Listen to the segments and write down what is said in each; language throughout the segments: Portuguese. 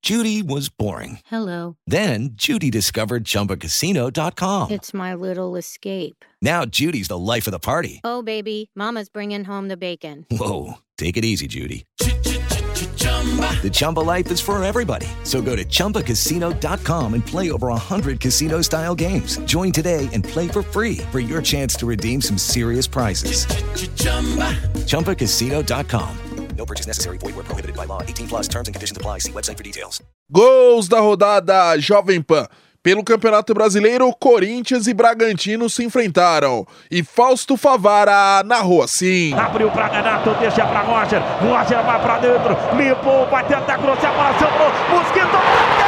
Judy was boring. Hello. Then Judy discovered ChumbaCasino.com. It's my little escape. Now Judy's the life of the party. Oh, baby, mama's bringing home the bacon. Whoa, take it easy, Judy. The Chumba life is for everybody. So go to ChumbaCasino.com and play over 100 casino-style games. Join today and play for free for your chance to redeem some serious prizes. ChumbaCasino.com. No purchase necessary. Void where prohibited by law. 18 plus terms and conditions apply. See website for details. Gols da rodada Jovem Pan. Pelo Campeonato Brasileiro, Corinthians e Bragantino se enfrentaram. E Fausto Favara narrou assim. Abriu pra Ganato, deixa pra Roger. Roger vai pra dentro, limpou, vai tentar cruzar, a bola sobrou. Mosquito,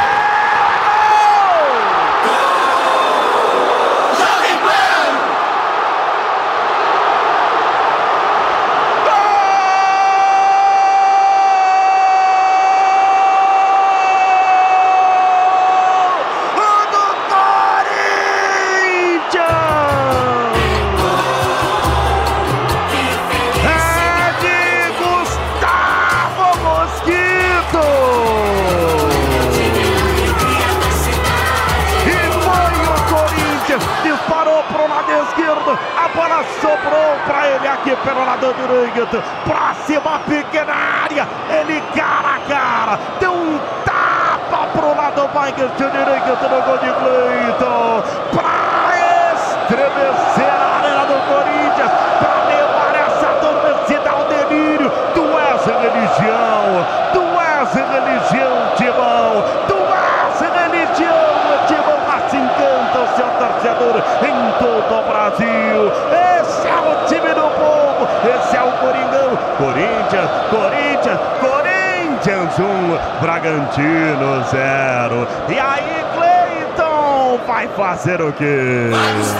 disparou pro lado esquerdo, a bola sobrou pra ele aqui pelo lado direito, pra cima, pequena área, ele cara a cara, deu um tapa pro lado mais direito no gol de Cleiton, pra estremecer a arena do Corinthians, pra levar essa torcida ao delírio. Tu és religião, tu és religião, Timão, tu és religião, Timão, assim canta o seu torcedor em todo o Brasil. Esse é o time do povo, esse é o Coringão. Corinthians, Corinthians, Corinthians 1, Bragantino 0. E aí, Cleiton vai fazer o quê?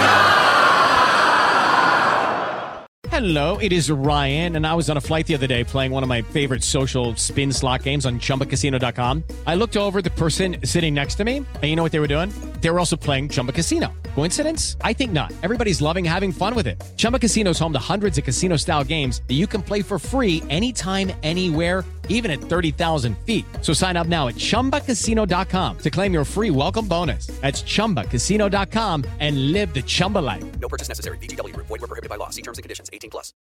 Hello, it is Ryan, and I was on a flight the other day playing one of my favorite social spin slot games on ChumbaCasino.com. I looked over at the person sitting next to me, and you know what they were doing? They were also playing Chumba Casino. Coincidence? I think not. Everybody's loving having fun with it. Chumba Casino is home to hundreds of casino-style games that you can play for free anytime, anywhere, even at 30,000 feet. So sign up now at ChumbaCasino.com to claim your free welcome bonus. That's ChumbaCasino.com and live the Chumba life. No purchase necessary. VGW. Void where prohibited by law. See terms and conditions. 18 plus.